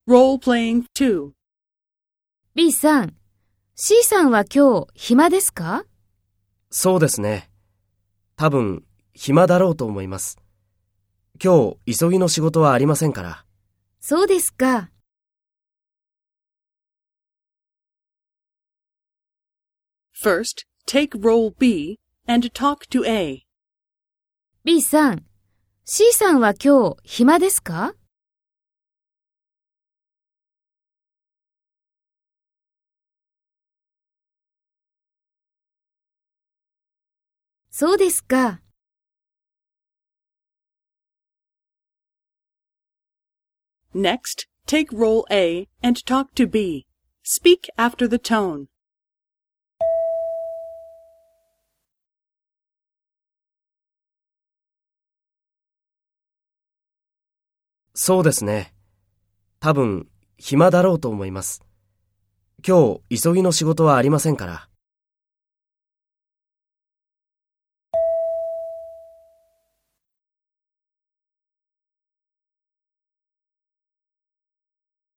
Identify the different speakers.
Speaker 1: Role-playing 2.
Speaker 2: B さん、C さんは今日暇ですか？
Speaker 3: そうですね。多分、暇だろうと思います。今日、急ぎの仕事はありませんから。
Speaker 2: そうですか。
Speaker 1: First, take role B and talk to A.
Speaker 2: B さん、C さんは今日暇ですか？そうですか。
Speaker 1: Next, take role A and talk to B. Speak after the tone.
Speaker 3: そうですね。多分、暇だろうと思います。今日、急ぎの仕事はありませんから。